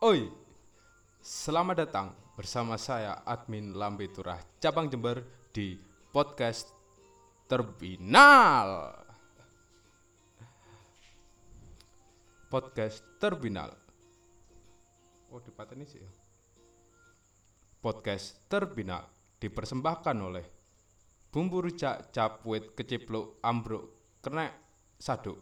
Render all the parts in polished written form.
Oi, selamat datang bersama saya admin Lambe Turah Cabang Jember di podcast Terminal. Podcast Terminal. Oh, ini sih. Podcast Terminal dipersembahkan oleh bumbu rujak capwit kecipluk ambruk kena saduk.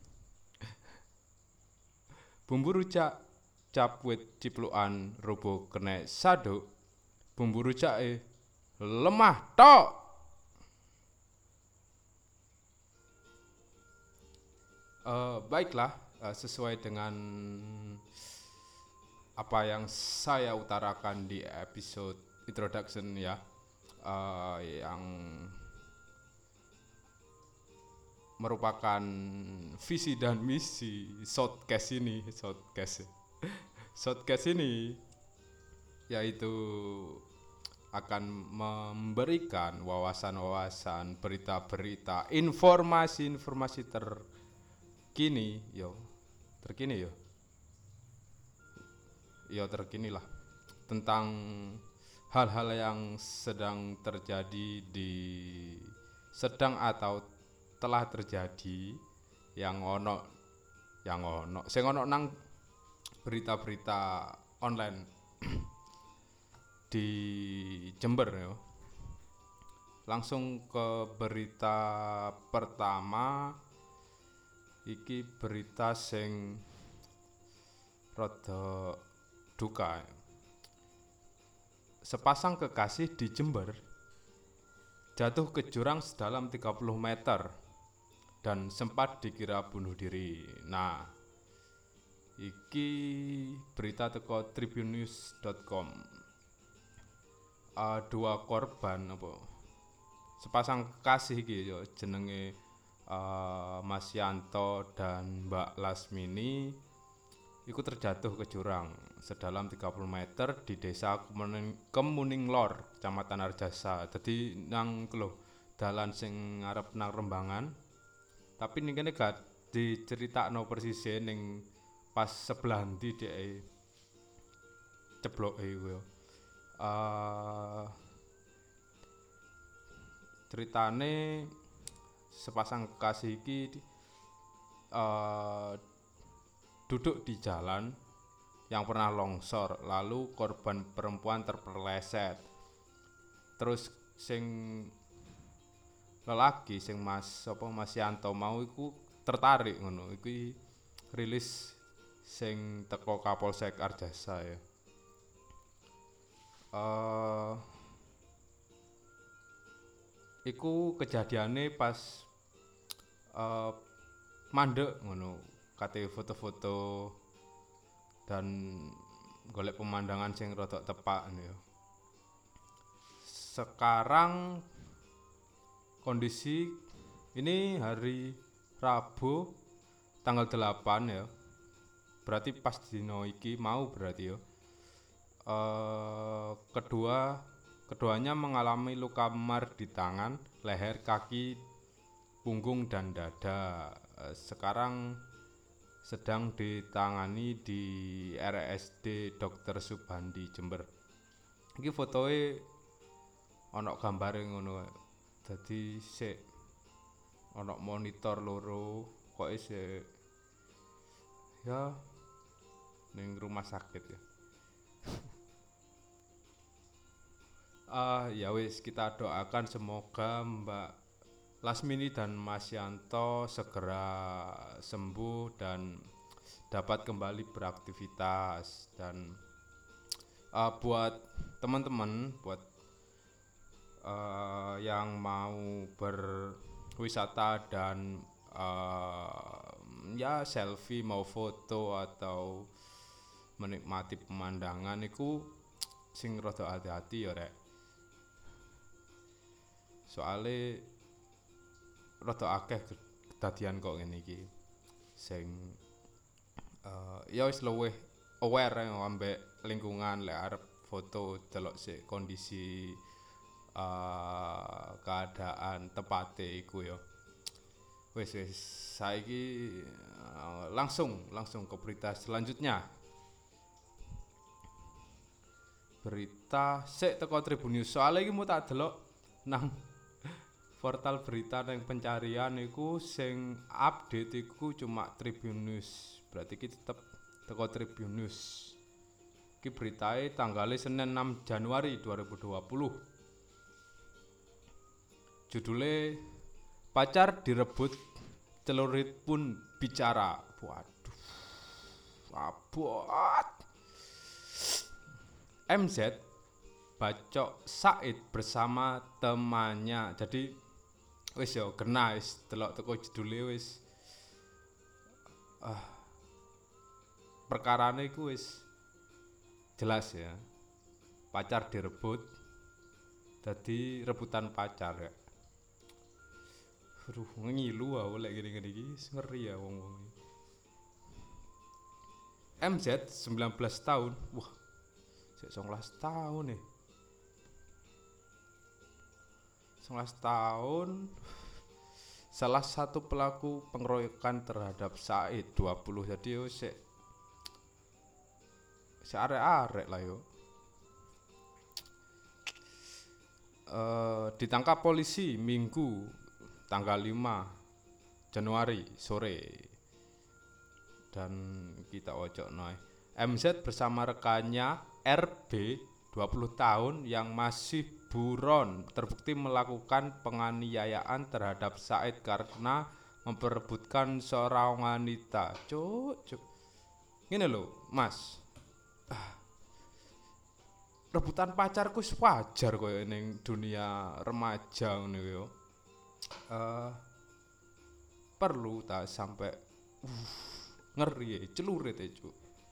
Bumbu rujak capwit ciplukan robo kena saduk. Bumbu rujak lemah tok. Baiklah, sesuai dengan apa yang saya utarakan di episode introduction ya, yang merupakan visi dan misi shotcast ini yaitu akan memberikan wawasan-wawasan, berita-berita, informasi-informasi terkini lah tentang hal-hal yang sedang terjadi sedang atau telah terjadi yang ono nang berita-berita online di Jember yo. Langsung ke berita pertama. Iki berita sing rada duka. Sepasang kekasih di Jember jatuh ke jurang sedalam 30 meter dan sempat dikira bunuh diri. Nah, iki berita teko tribunnews.com. Dua korban sepasang kekasih iki yo jenenge Mas Yanto dan Mbak Lasmini iku terjatuh ke jurang sedalam 30 meter di desa Kemuning Lor, Kecamatan Arjasa. Dadi nang dalan sing ngarep nang Rembangan. Tapi ning kene gak diceritakno persise ning pas sebelah ndi dhek cebloke iku yo. Ceritane sepasang kekasih iki duduk di jalan yang pernah longsor, lalu korban perempuan terpeleset. Terus sing lelaki sing Mas Yanto mau iku tertarik ngono. Iki rilis sing teko Kapolsek Arjasa ya. Iku kejadiane pas mandek ngono, kate foto-foto dan golek pemandangan sing rada tepak ya. Sekarang kondisi ini hari Rabu tanggal 8 ya. Berarti pas dino iki mau berarti ya. Keduanya mengalami luka memar di tangan, leher, kaki, punggung dan dada. Sekarang sedang ditangani di RSD Dr. Subandi Jember. Iki fotoe ana gambare ngono. Dadi sik ana monitor loro kok isih ya ning rumah sakit ya. Ya wis, kita doakan semoga Mbak Lasmini dan Mas Yanto segera sembuh dan dapat kembali beraktivitas. Dan buat teman-teman, buat yang mau berwisata dan ya selfie, mau foto atau menikmati pemandangan iku sing rada hati-hati ya rek. Soale rada akeh kedadian kok ngene iki sing ya wis luwih aware ambek lingkungan lek arep foto delok sik kondisi keadaan tepate iku ya. Wis saiki langsung ke berita selanjutnya. berita sik teko Tribun News. Soale iki mu tak delok nang portal berita nang pencarian iku sing update iku cuma Tribun News. Berarti iki tetep teko Tribun News. Iki beritae tanggal Senin 6 Januari 2020. Judulnya pacar direbut, celurit pun bicara. Waduh, abot. MZ bacok Said bersama temannya. Jadi wis yo kena wis delok teko judule wis perkarane iku wis jelas ya. Pacar direbut, dadi rebutan pacar ya. Aduh, ngilu aku lek gini-gini iki ngeri ya wong-wong. MZ 19 tahun. Wah, sik 19 tahun nih. 19 tahun salah satu pelaku pengeroyokan terhadap Said 20. Jadi yo sik arek-arek lah yo. Ditangkap polisi Minggu tanggal 5 Januari sore. Dan kita ojok noy. MZ bersama rekannya RB 20 tahun yang masih buron terbukti melakukan penganiayaan terhadap Said karena memperebutkan seorang wanita. Cuk. Ngene lho, Mas. Rebutan pacarku wajar koyo ning dunia remaja ngono yo. Perlu tak sampai ngeri ya, celurit ya cuk.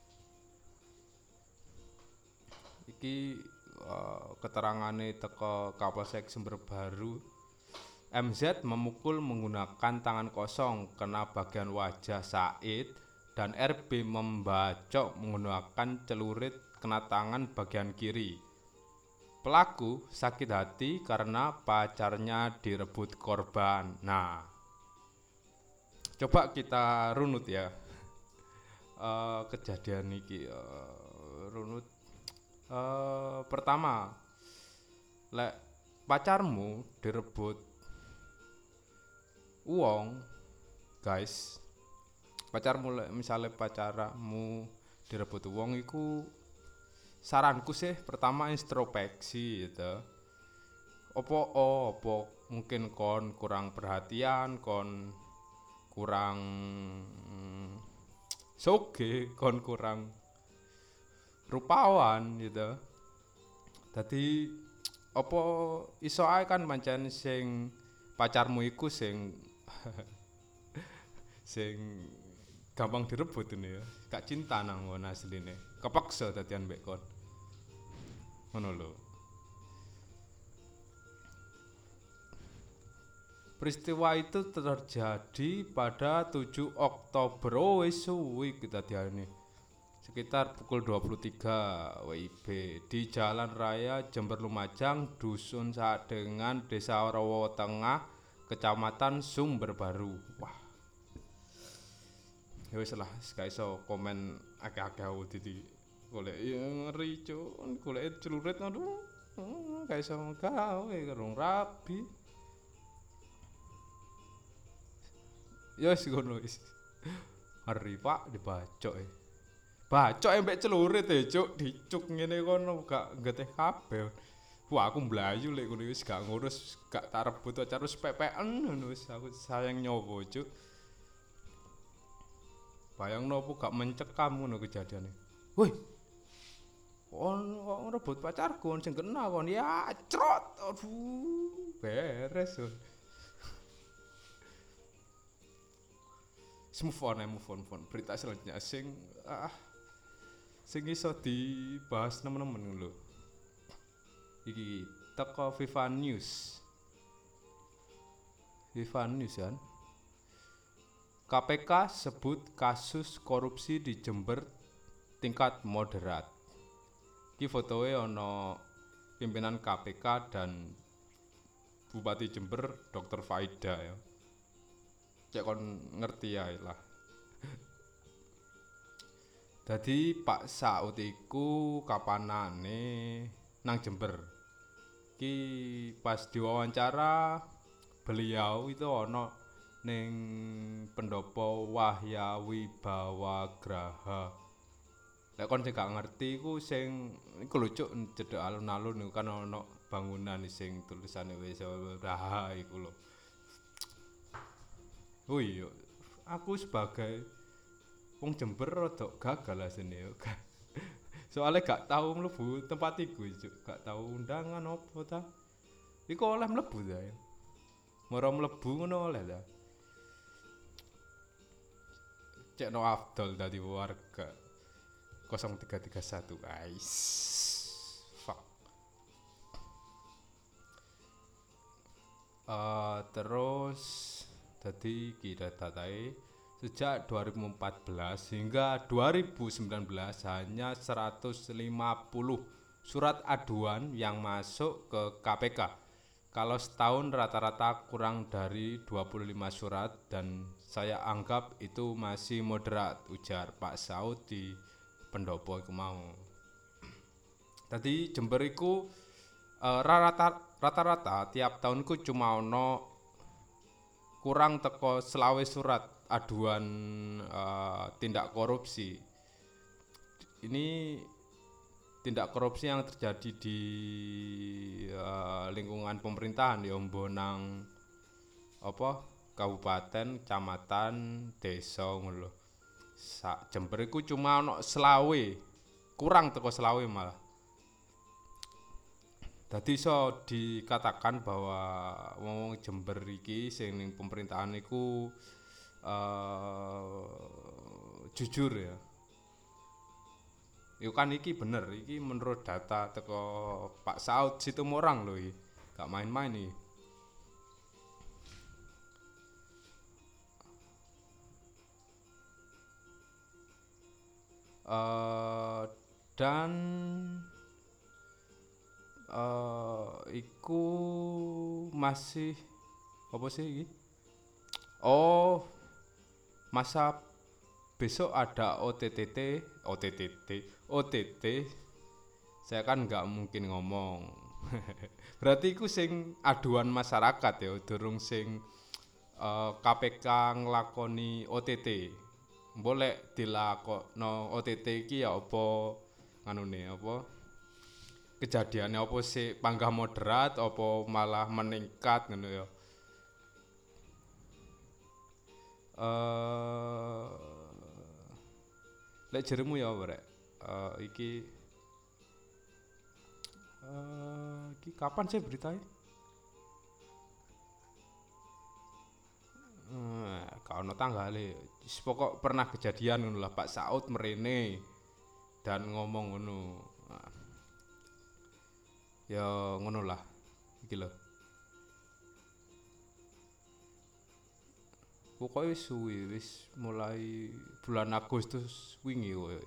Iki keterangane teko Kapolsek Sumber Baru. MZ memukul menggunakan tangan kosong kena bagian wajah Said dan RB membacok menggunakan celurit kena tangan bagian kiri. Pelaku sakit hati karena pacarnya direbut korban. Nah, coba kita runut ya kejadian iki. Runut pertama, lek pacarmu direbut uang, guys. Pacarmu lek misalnya pacarmu direbut uang iku saranku sih pertama introspeksi gitu. Opo mungkin kon kurang perhatian, kon kurang soge, kon kurang rupawan gitu. Dadi opo iso ae kan pancen sing pacarmu iku sing sing gampang direbut ini ya. Gak cinta nang ngono asline. Kepaksa dadian mbek kon. Ngono lho. Peristiwa itu terjadi pada 7 Oktober. Oh, wis suwi kedadiane. Sekitar pukul 23 WIB di Jalan Raya Jember Lumajang, Dusun Sadengan, Desa Rawo Tengah, Kecamatan Sumber Baru. Wah. Ya wis lah, gak iso komen akeh-akeh dadi golek ngeri cuk, golek celurit aduh. Gak iso gawe karo rabi. Ya wis ngono wis. Ngeri Pak dibacok e. Bacok mbek celurit e cuk, dicuk ngene kono gak ngeteh kabeh. Wah aku mlayu lek ngono wis gak ngurus, gak tak rebut aja terus pepekan ngono wis aku sayang nyowo cuk. Bayangno opo gak mencekam ngono kejadiane. Woi. Kok rebut pacarku sing kena kon ya crot. Aduh, beres. Move on. Berita selanjutnya sing iso dibahas temen-temen lho. Iki teko Viva News kan. KPK sebut kasus korupsi di Jember tingkat moderat. Iki fotoe ana pimpinan KPK dan Bupati Jember Dr. Faida ya. Cek kon ngerti ya lah. Dadi Pak Saud iku kapanane nang Jember. Ki pas diwawancara beliau itu ono ning pendopo Wahya Wibawagraha. Lek kon sing gak ngerti iku sing iku lho cuk cedhek alun-alun iku kan ono bangunan sing tulisane Wibawagraha iku lho. Oh iya, aku sebagai wong Jember rada gagal asine yo. Soalnya gak tahu mlebu tempat iku, Cuk. Gak tahu undangan opo ta. Iku oleh mlebu ta ya. Moro mlebu ngono oleh ta. Cekno Afdol dadi warga 0331 guys. Fuck. Terus tadi kita datai sejak 2014 hingga 2019 hanya 150 surat aduan yang masuk ke KPK. Kalau setahun rata-rata kurang dari 25 surat dan saya anggap itu masih moderat, ujar Pak Saud di pendopo iku mau. Tadi Jember iku rata-rata tiap tahun ku cuma ono kurang teko selawe surat aduan tindak korupsi. Ini tindak korupsi yang terjadi di lingkungan pemerintahan ya nang apa kabupaten, kecamatan, desa ngono lho. Sak Jember iku cuma ono selawe, kurang teko selawe malah. Dadi iso dikatakan bahwa wong Jember iki sing ning pemerintahan iku jujur ya. Yo kan iki bener, iki menurut data teko Pak Saud Situmorang lho iki. Gak main-main iki. Dan iku masih apa sih iki? Oh, masa besok ada OTT. Saya kan nggak mungkin ngomong. Berarti iku sing aduan masyarakat ya, durung sing KPK nglakoni OTT. Boleh dilakokno OTT iki ya apa nganune apa? Kejadiannya apa sih panggah moderat apa malah meningkat ngono ya. Lek jeremu ya rek. Iki kapan sih beritanya? Kau no tanggale. Pokok pernah kejadian ngono lah Pak Saud merene dan ngomong ngono. Ya ngono lah. Iki lho. Pokoknya suwi wis mulai bulan Agustus wingi kowe.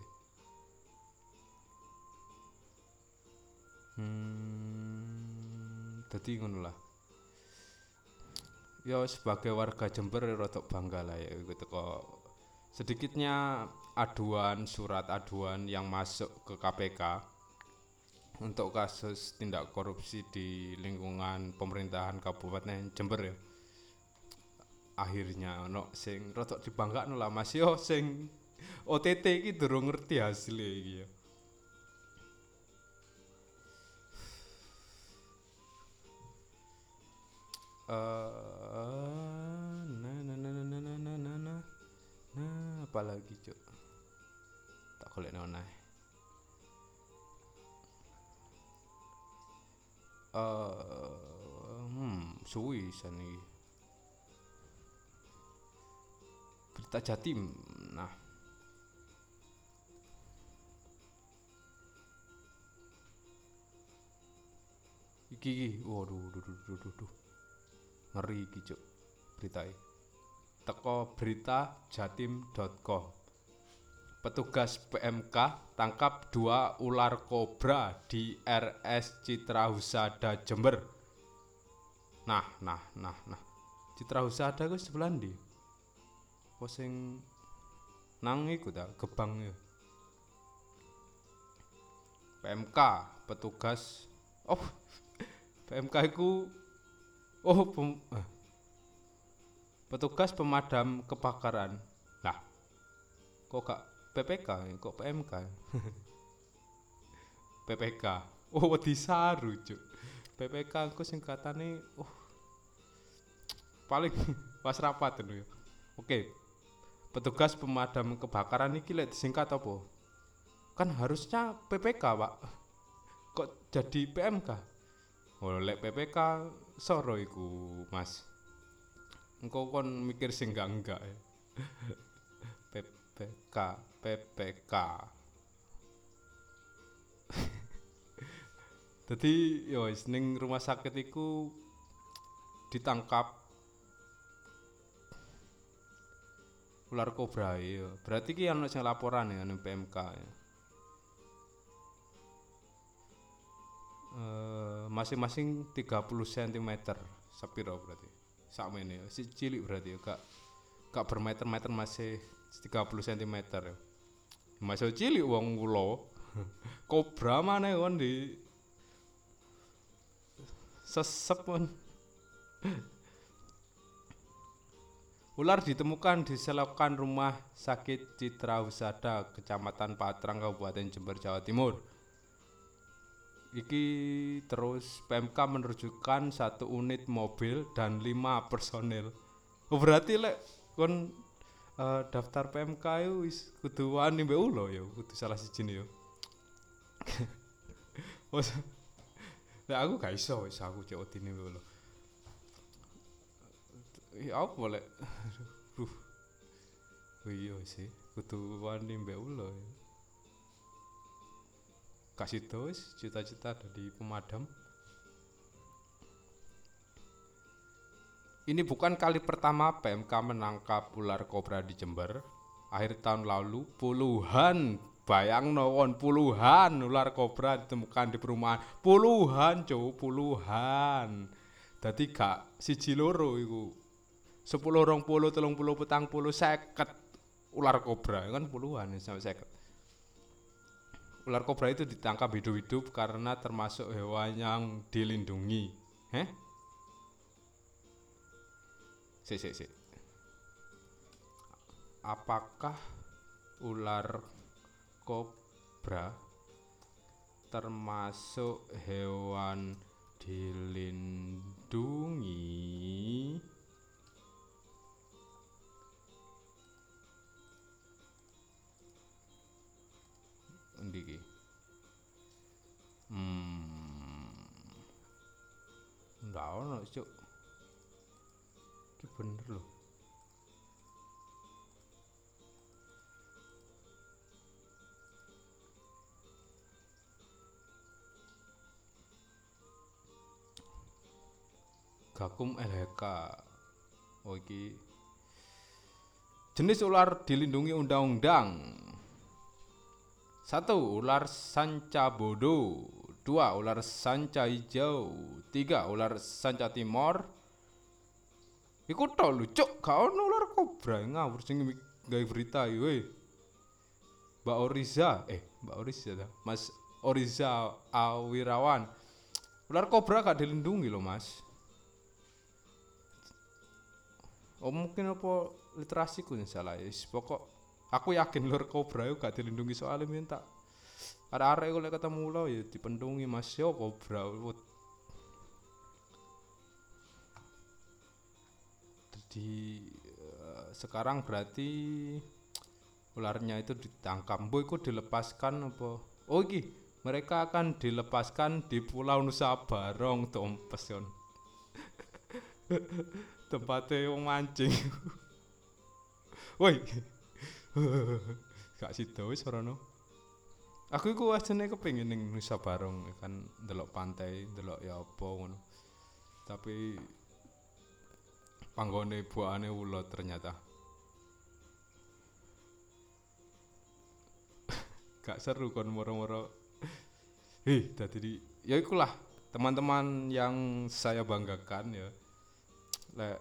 Dadi ngono lah. Ya sebagai warga Jember rada bangga lah ya iku teko sedikitnya surat aduan yang masuk ke KPK untuk kasus tindak korupsi di lingkungan pemerintahan Kabupaten Jember ya. Akhirnya ono sing rada dibanggakno lah Mas yo sing OTT iki durung ngerti hasilnya iki ya. Apalagi cuk tak golek nona suwi sani berita Jatim. Nah iki waduh ngeri iki cuk beritae teko beritajatim.com. Petugas PMK tangkap 2 ular kobra di RS Citra Husada Jember. Nah. Citra Husada ku sebelah ndi? Apa sing nang iku ta Gebang ya. PMK, petugas. Oh, PMK iku oh petugas pemadam kebakaran. Lah, kok gak PPK, kok PMK? PPK. Oh, wedi saru, Cuk. PPK ku singkatane paling pas rapat itu ya. Oke, petugas pemadam kebakaran iki lek disingkat apa? Kan harusnya PPK, Pak. Kok jadi PMK? Oh, lek PPK soro iku, Mas. Engko kon mikir sing enggak ya. PPK, PPK. Jadi yo ning rumah sakit iku ditangkap ular kobra ya. Berarti ki ono sing laporan ya ning PMK ya. Masing-masing 30 cm sepiro berarti. Sakmene ya. Si cilik berarti ya, gak bermeter-meter masih 30 cm ya. Masih cilik wong kula. Kobra maneh kon di sesep kon. Ular ditemukan di selokan rumah sakit Citra Husada, Kecamatan Patrang, Kabupaten Jember, Jawa Timur. Iki terus PMK menerjunkan 1 unit mobil dan 5 personel. Oh, berarti lek kon daftar PMK itu wis kudu wani mbek ulo ya, kudu salah siji ya. Lek aku gak iso wis aku cek odine mbek ulo. Ya apa lek iya sih kudu wani mbek ulo ya. Kasih terus cita-cita dari pemadam. Ini bukan kali pertama PMK menangkap ular kobra di Jember. Akhir tahun lalu puluhan, bayang nowon puluhan ular kobra ditemukan di perumahan. Puluhan, cowok puluhan. Dadi gak siji loro iku. 10, 20, 30, 40, 50 ular kobra kan puluhan sampai 50. Ular kobra itu ditangkap hidup-hidup karena termasuk hewan yang dilindungi. Sik. Apakah ular kobra termasuk hewan dilindungi? Endi iki? Ndak ono, Cuk. Iki bener lho. Gakum LHK. Oh iki jenis ular dilindungi undang-undang. 1. Ular sanca bodo. 2. Ular sanca hijau. 3. Ular sanca timor. Iku tok lho, Cuk, gak ono ular kobra ngawur sing gawe berita iki we. Mbak Oriza ta. Mas Oriza Awirawan. Ular kobra gak dilindungi loh, Mas. Oh, mungkin apa literasiku yang salah ya. Pokok aku yakin ular kobra itu gak dilindungi soalnya minta arek-arek kalau ketemu lo ya dipendungi, Mas, yo kobra. Jadi sekarang berarti ularnya itu ditangkap. Boy itu dilepaskan apa? Oh iki mereka akan dilepaskan di Pulau Nusa Barong, Tompes yon. Tempatnya wong mancing. Woi. Gak sida wis ora no. Aku iku asline kepengin ning Nusa Barong kan ndelok pantai, ndelok ya apa ngono. Tapi panggone buahane ulo ternyata. Gak seru kon moro-moro. Dadi ya ikulah teman-teman yang saya banggakan ya. Lek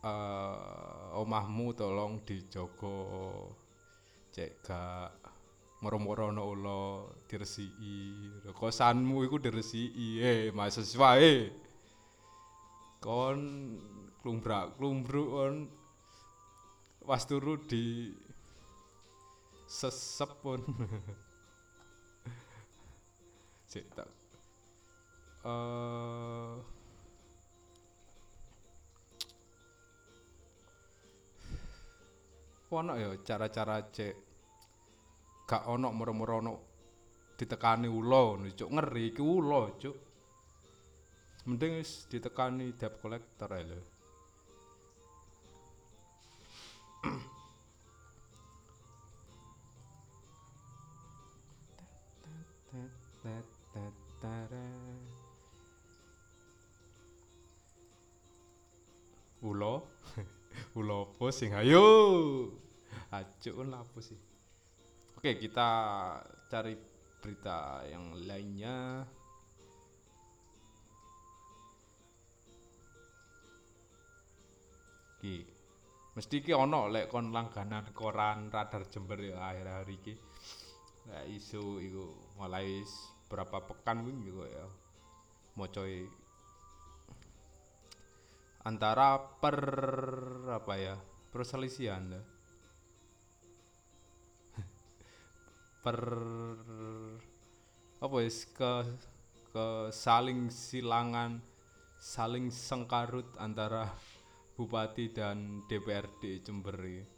omahmu tolong dijogo, cek gak moro-moro ana ula diresiki kosanmu iku diresiki mahasiswa kon klumbrak-klumbruk kon was turu di sesep pun sik tak ono ya cara-cara cek gak ono moro-moro ono ditekani ula ngono cuk ngeri iki ula cuk mending wis ditekani debt collector ae lho ula ula apa sing ayo acuk kan apa sih. Oke, kita cari berita yang lainnya. Ki, mesti ki ono lek kon langganan koran Radar Jember ya akhir-akhir iki. Lek isu iku mulai berapa pekan wingi kok ya. Mocoe antara apa ya? Perselisihan lah. Apa wis ke saling silangan saling sengkarut antara Bupati dan DPRD Jember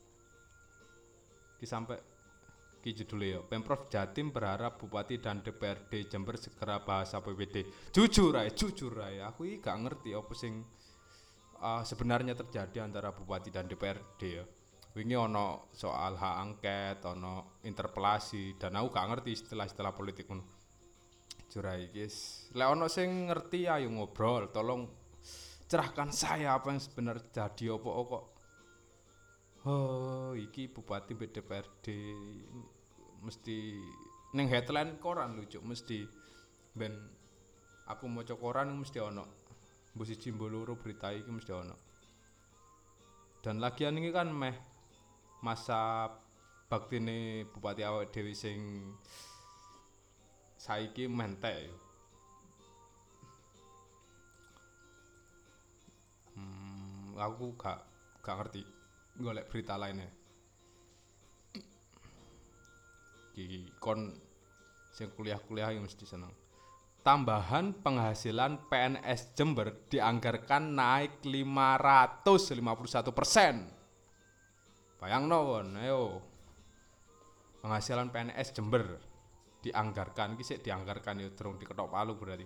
iki sampai ki judulnya ya Pemprov Jatim berharap Bupati dan DPRD Jember segera bahas APBD. Jujur ae aku iki gak ngerti apa sing sebenarnya terjadi antara Bupati dan DPRD ya. Wingi ono soal hak angket, ono interpelasi dan aku gak ngerti istilah-istilah politik ngono. Jurai guys. Lek ono sing ngerti ayo ngobrol, tolong cerahkan saya apa yang sebenarnya terjadi apa kok. Oh, iki Bupati DPRD mesti ning headline koran lucu mesti ben aku maca koran mesti ono. Mbok siji mbok loro berita iki mesti ono. Dan lagian ini kan meh masa baktine Bupati awake dhewe sing saiki mentek yo. Aku gak ngerti golek berita lainnya. Iki kon sing kuliah-kuliah yang mesti seneng. Tambahan penghasilan PNS Jember dianggarkan naik 551%. Bayangno kon, ayo. Penghasilan PNS Jember dianggarkan, iki sik dianggarkan ya durung diketok palu berarti.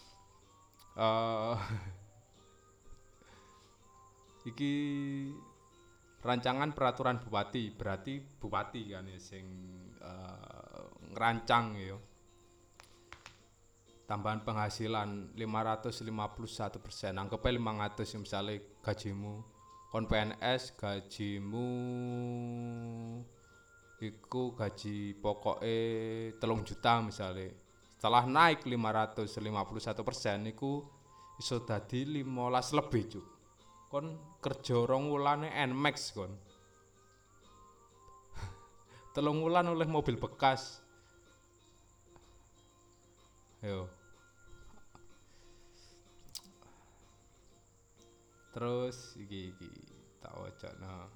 Iki rancangan peraturan bupati, berarti bupati kan ya sing ngerancang ya. Tambahan penghasilan 551%, anggapnya 500 misalnya gajimu kon PNS gajimu iku gaji pokoknya 3 juta misalnya. Setelah naik 551% iku iso dadi 15 lebih cuk. Kon kerja 2 wulane Nmax kon. 3 wulan oleh mobil bekas. Yo. Terus iki tak wacana.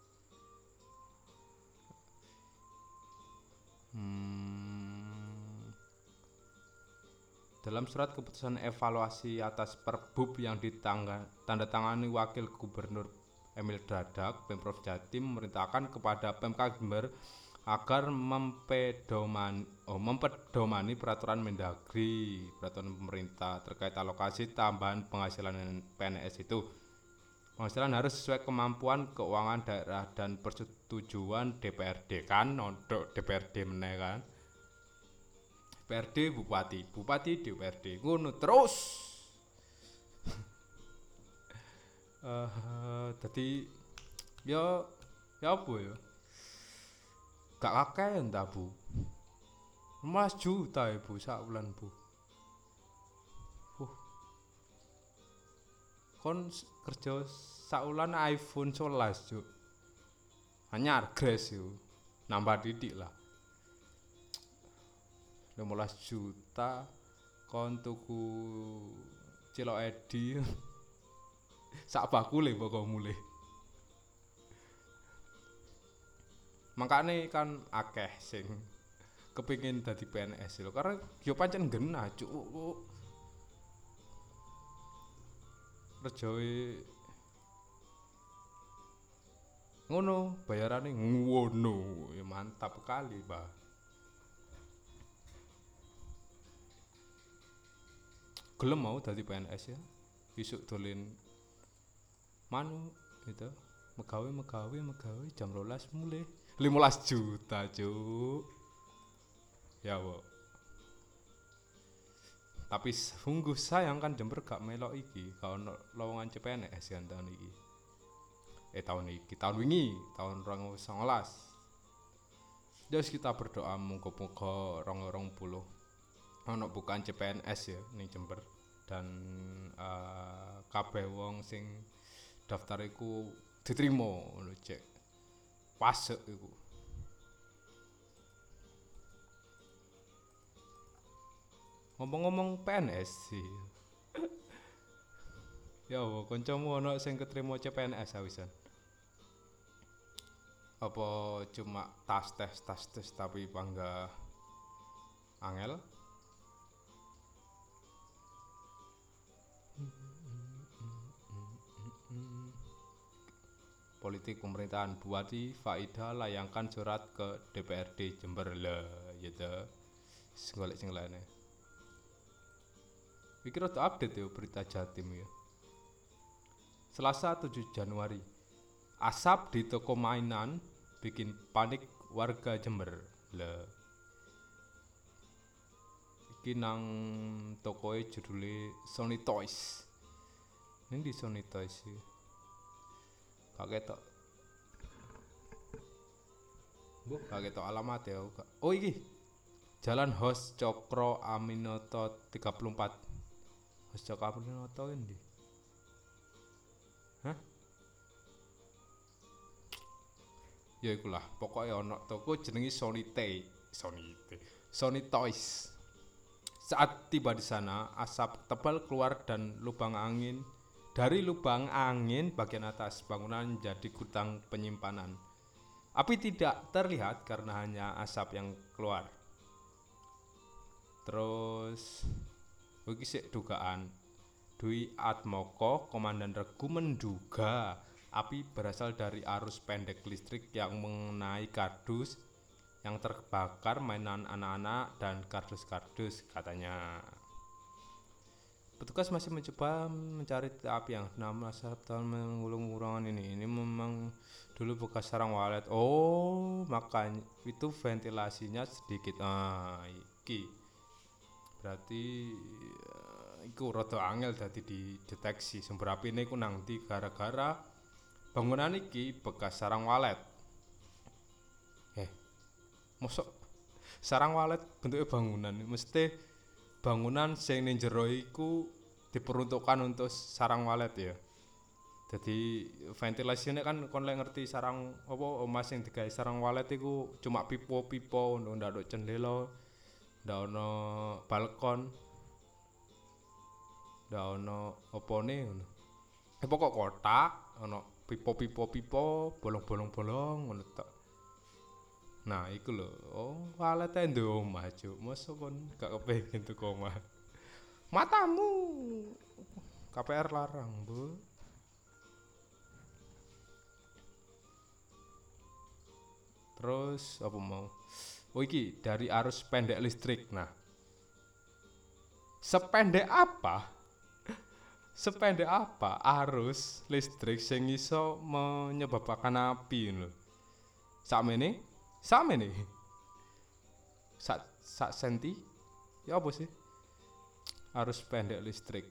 Dalam surat keputusan evaluasi atas Perbub yang ditandatangani Wakil Gubernur Emil Dadak, Pemprov Jatim memerintahkan kepada Pemkab Jember agar mempedomani peraturan Mendagri, peraturan pemerintah terkait alokasi tambahan penghasilan PNS itu. Penghasilan harus sesuai kemampuan keuangan daerah dan persetujuan DPRD kan, untuk DPRD meneh kan. DPRD Bupati DPRD ngono terus. Dadi ya apa ya? Gak akeh entah Bu. 15 juta ya Bu sak bulan Bu. Kon kerja sak bulan iPhone 11 Cuk. Anyar gres yo. Nambah didik lah. 15 juta kon tuku cilok edi sak bakule pokok mulih. Makane kan akeh sing kepingin dadi PNS lho karena yo pancen genah cuk. Rejoe ngono, bayarane ngono. Ya mantap kali, Pak. Gelem mau dadi PNS ya. Besok dolen manu gitu. Megawe jam 12 mulai 15 juta, Cuk. Ya, Wo. Tapi sungguh sayang kan Jember gak melok iki, gak ono lowongan CPNS kan tahun iki. Tahun wingi, tahun 2019. Terus kita berdoa muga-muga 2020 ono bukan CPNS ya ning Jember dan kabeh wong sing daftar iku diterima ngono cek. Pas iku. Ngomong-ngomong PNS sih. Ya wo, kancamu ono sing ketrima CPNS awisan. Apa cuma tas tes tapi bangga angel? Politik pemerintahan buati Faida layangkan surat ke DPRD Jember lah gitu. Golek sing lainnya. Iki rada update ya berita Jatim ya. Selasa 7 Januari. Asap di toko mainan bikin panik warga Jember. Lah. Iki nang tokoe judule Sony Toys. Ning di Sony Toys iki. Gak ketok. Gak ketok alamat ya. Oh iki. Jalan Hos Cokro Aminoto 34. Hos Cokro Aminoto endi? Hah? Ya ikulah, pokoknya ono toko jenengi Sony Toys. Saat tiba di sana, asap tebal keluar dan dari lubang angin bagian atas bangunan jadi gudang penyimpanan. Api tidak terlihat karena hanya asap yang keluar. Terus iki sik dugaan Dwi Atmoko, Komandan Regu menduga api berasal dari arus pendek listrik yang mengenai kardus yang terbakar mainan anak-anak dan kardus-kardus katanya. Petugas masih mencoba mencari api yang nama tahun menggulung ruangan ini. Ini memang dulu bekas sarang walet. Oh, makanya itu ventilasinya sedikit. Iki. Berarti iku rada angel dadi dideteksi sumber api ini ku nang ndi gara-gara bangunan iki bekas sarang walet. Mosok sarang walet bentuknya bangunan mesti bangunan sing ning jero iku diperuntukkan untuk sarang walet ya. Jadi ventilasinya kan kon lek ngerti sarang apa omah sing digawe sarang walet iku cuma pipo-pipo ndak ono jendela, ndak ono balkon, ndak ono opone ngono. Pokok kotak ono pipo-pipo, bolong-bolong ngono tok. Nah, iku lho. Oh, walete ndek omah, Cuk. Mosok kon gak kepengin tuku omah. Matamu. KPR larang, Bu. Terus apa mau? Oh iki dari arus pendek listrik. Nah. Sependek apa? Sependek apa arus listrik sing iso menyebabkan api lho. Sakmene sak senti ya apa sih arus pendek listrik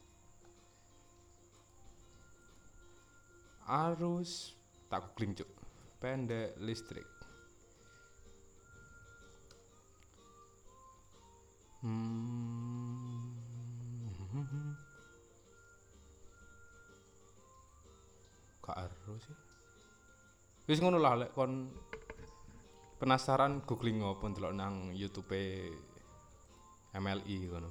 arus tak googling cuk pendek listrik gak arus sih wis ngono lah lek kon penasaran googling ngopo ndelok nang YouTube MLI ngono.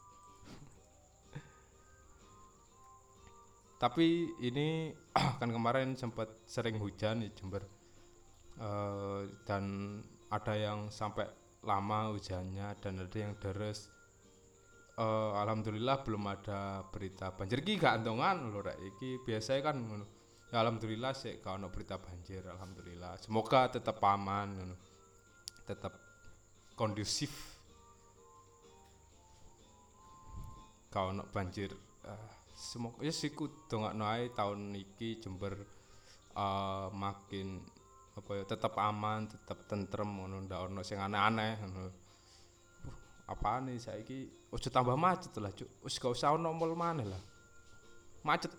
Tapi ini kan kemarin sempat sering hujan di Jember. Dan ada yang sampai lama hujannya dan ada yang deres. Alhamdulillah belum ada berita banjir iki gak antongan lho rek iki biasanya kan ngono. Ya alhamdulillah sih gak ono berita banjir alhamdulillah. Semoga tetap aman ngono. Tetap kondusif. Gak ono banjir. Semoga ya siku dongakno ae tahun iki Jember makin apa ya tetap aman, tetap tentrem ngono ndak ono sing aneh-aneh ngono. Apaan nih saiki ojo tambah macet lah cuk. Wis gak usah ono mall maneh lah. Macet.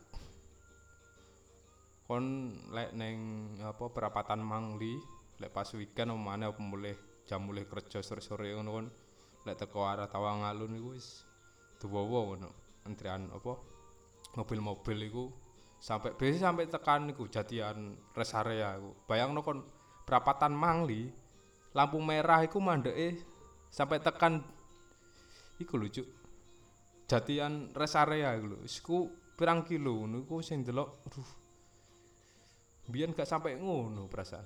Kon lek ning apa perapatan Mangli, lek pas weekend omane apa jam mulih kerja sore-sore ngono kon lek teko arah Tawangalun iku wis duwowo ngono. Antrian apa mobil-mobil iku sampai tekan iku jatian rest area iku. Bayangno kon perapatan Mangli lampu merah iku mandeke sampai tekan iku lho cuk. Jatian rest area iku lho. Iku pirang kilo ngono iku sing delok aduh. Biyen gak sampai ngono perasaan.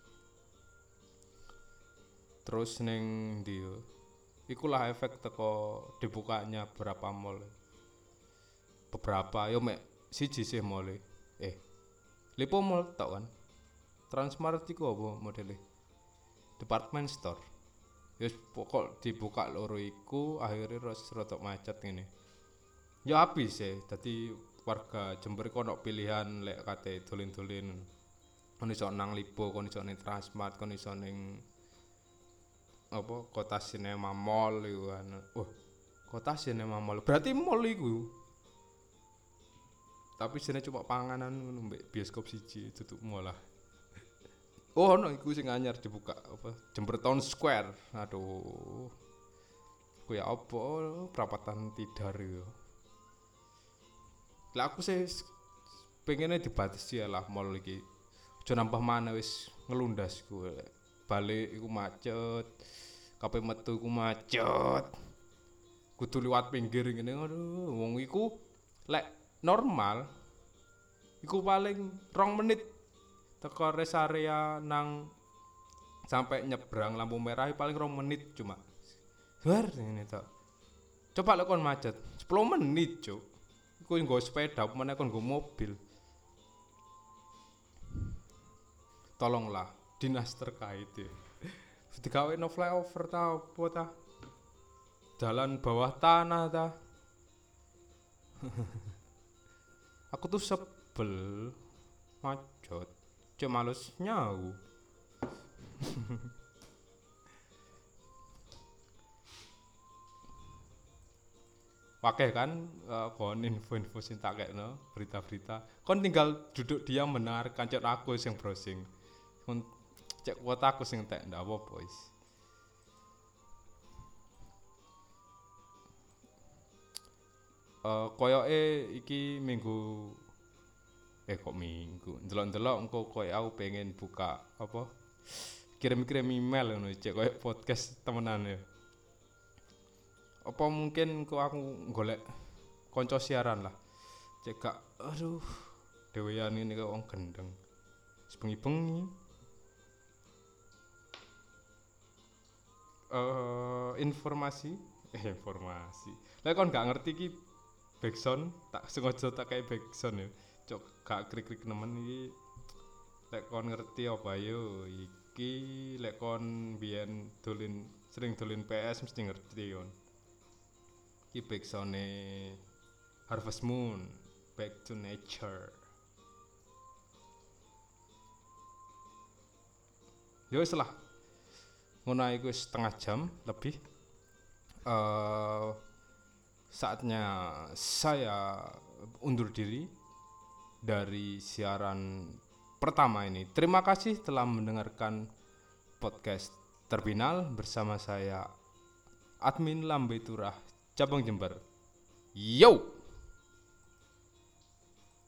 Terus ning ndi yo. Ikulah efek teko dibukanya beberapa mall. Beberapa yo mek siji sih mall. Lipo Mall tok kan. Transmart iku apa modele? Department store. Wis pokok dibuka loro iku akhirnya rada macet ngene. Ya habis sih, dadi warga Jember kono pilihan lek kate dolen-dolen. Kon iso nang Lipo, kon iso ning Transmart, kon iso ning apa Kota Sinema Mall iku kan. Kota Sinema Mall. Berarti mall iku. Tapi sine cuma panganan ngono mbek bioskop siji tutup mall lah. Ono iku sing anyar dibuka apa Jember Town Square. Aduh. Kuwi apa perapatan Tidar yo. Lah aku sih pengennya dibatasi lah mall iki. Aja nambah mana wis ngelundas ku. Balik iku macet. Kape metu iku macet. Kudu liwat pinggir ngene aduh wong iku lek normal iku paling 2 menit teko rest area nang sampai nyebrang lampu merah paling 2 menit cuma. Bar ngene tok. Coba lek kon macet 10 menit, Cuk. Iku nggo sepeda apa meneh kon nggo mobil. Tolonglah dinas terkait ya. Digawe no flyover ta apa ta? Jalan bawah tanah ta? Aku tuh sebel macet. Cuk males nyau. Pakai kan kon info-info sing tak kekno, berita-berita. Kon tinggal duduk diam mendengarkan cek aku sing browsing. Kon cek kuota aku sing tek ndak apa-apa wis. Koyoke iki minggu kok minggu ndelok-ndelok engko koyo aku pengen buka apa kirim-kirim email ngono cek koyo podcast temenan ya. Apa mungkin kok aku golek kanca siaran lah. Cek gak aduh dhewean ngene kok wong gendeng. Sebengi-bengi. Informasi. Lah kon gak ngerti iki backsound tak sengaja tak kayak backsound ya. Cok gak krik-krik nemen iki. Lek kon ngerti apa yo iki lek kon biyen sering dolen PS mesti ngerti kon. Iki backsound Harvest Moon, Back to Nature. Ya wis lah. Ngono iku setengah jam lebih. Saatnya saya undur diri dari siaran pertama ini. Terima kasih telah mendengarkan podcast Terminal bersama saya Admin Lambe Turah Cabang Jember. Yo.